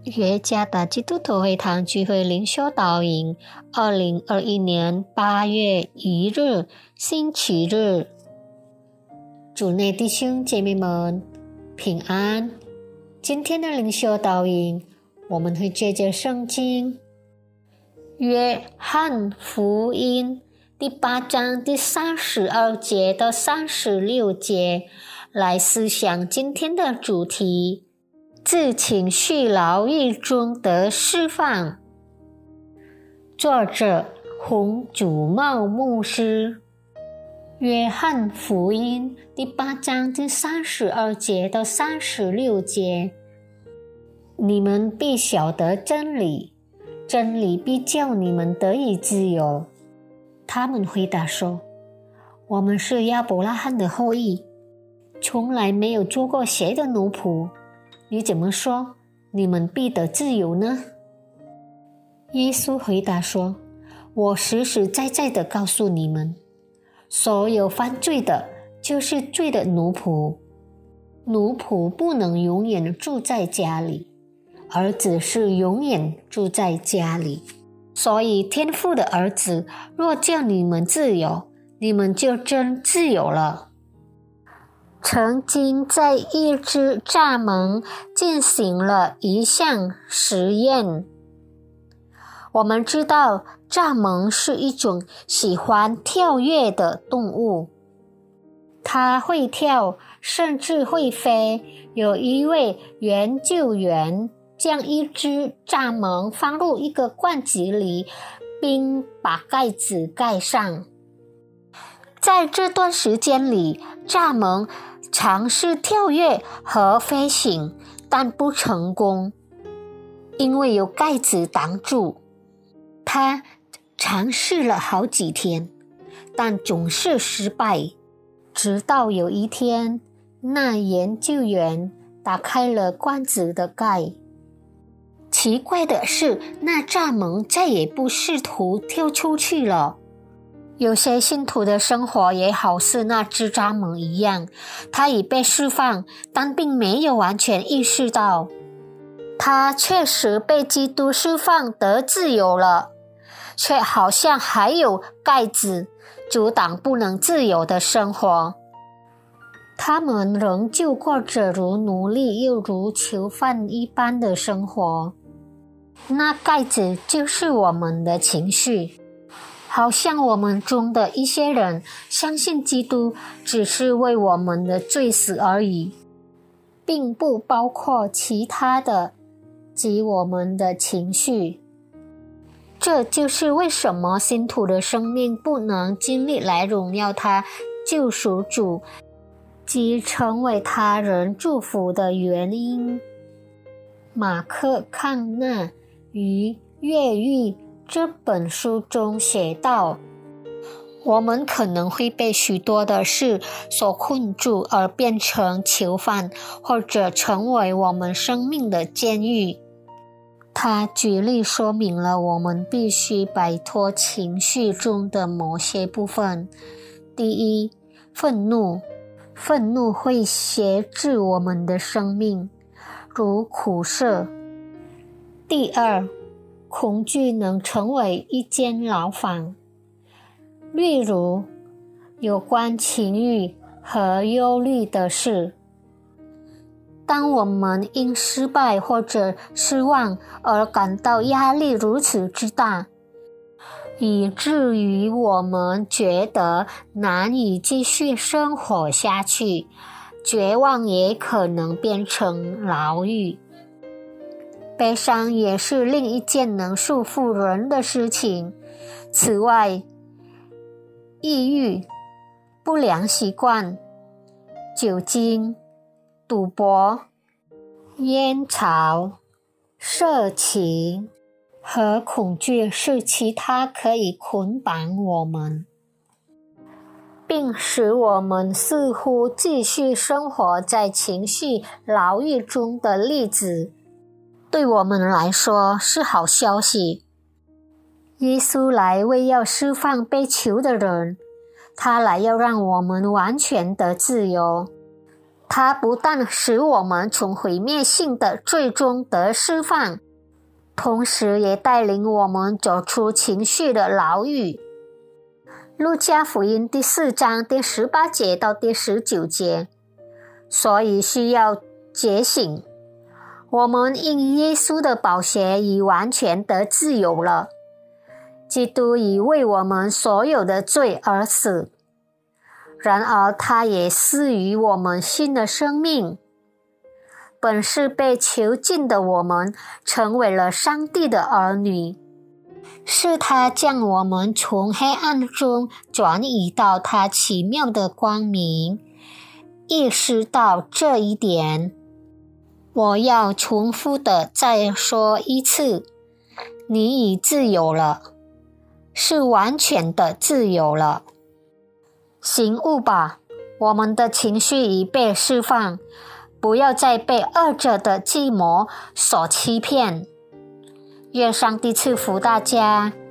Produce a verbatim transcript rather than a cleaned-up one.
约加达基督徒会堂聚会灵修导引，二零二一年八月一日星期日。主内弟兄姐妹们平安。今天的灵修导引，我们会借着圣经约翰福音第八章第三十二节到三十六节来思想今天的主题，自情绪牢狱中得释放。作者洪祖茂牧师。约翰福音第八章第三十二节到三十六节，你们必晓得真理，真理必叫你们得以自由。他们回答说，我们是亚伯拉罕的后裔，从来没有做过谁的奴仆，你怎么说你们必得自由呢？耶稣回答说，我实实在在地告诉你们，所有犯罪的就是罪的奴仆。奴仆不能永远住在家里，儿子是永远住在家里。所以天父的儿子若叫你们自由，你们就真自由了。曾经在一只蚱蜢进行了一项实验。我们知道蚱蜢是一种喜欢跳跃的动物，它会跳，甚至会飞。有一位研究员将一只蚱蜢放入一个罐子里，并把盖子盖上。在这段时间里，蚱蜢尝试跳跃和飞行，但不成功，因为有盖子挡住。他尝试了好几天，但总是失败。直到有一天，那研究员打开了罐子的盖。奇怪的是，那蚱蜢再也不试图跳出去了。有些信徒的生活也好似那只蚱蜢一样，他已被释放，但并没有完全意识到，他确实被基督释放得自由了，却好像还有盖子阻挡不能自由的生活。他们仍旧过着如奴隶又如囚犯一般的生活。那盖子就是我们的情绪，好像我们中的一些人相信基督只是为我们的罪死而已，并不包括其他的及我们的情绪。这就是为什么信徒的生命不能经历来荣耀他救赎主及成为他人祝福的原因。马克康纳于越狱这本书中写道，我们可能会被许多的事所困住而变成囚犯，或者成为我们生命的监狱。他举例说明了我们必须摆脱情绪中的某些部分。第一，愤怒。愤怒会挟制我们的生命，如苦涩。第二，恐惧能成为一间牢房，例如有关情欲和忧虑的事。当我们因失败或者失望而感到压力如此之大，以至于我们觉得难以继续生活下去，绝望也可能变成牢狱。悲伤也是另一件能束缚人的事情。此外，抑郁、不良习惯、酒精、赌博、烟草、色情和恐惧是其他可以捆绑我们，并使我们似乎继续生活在情绪牢狱中的例子。对我们来说是好消息。耶稣来为要释放被囚的人，他来要让我们完全的自由。 他不但使我们从毁灭性的罪中得释放，同时也带领我们走出情绪的牢狱。路加福音第四章第十八节到第十九节，所以需要觉醒。我们因耶稣的宝血已完全得自由了。基督已为我们所有的罪而死，然而他也赐予我们新的生命。本是被囚禁的我们成为了上帝的儿女，是他将我们从黑暗中转移到他奇妙的光明。意识到这一点，我要重复的再说一次，你已自由了，是完全的自由了。醒悟吧，我们的情绪已被释放，不要再被恶者的计谋所欺骗。愿上帝赐福大家。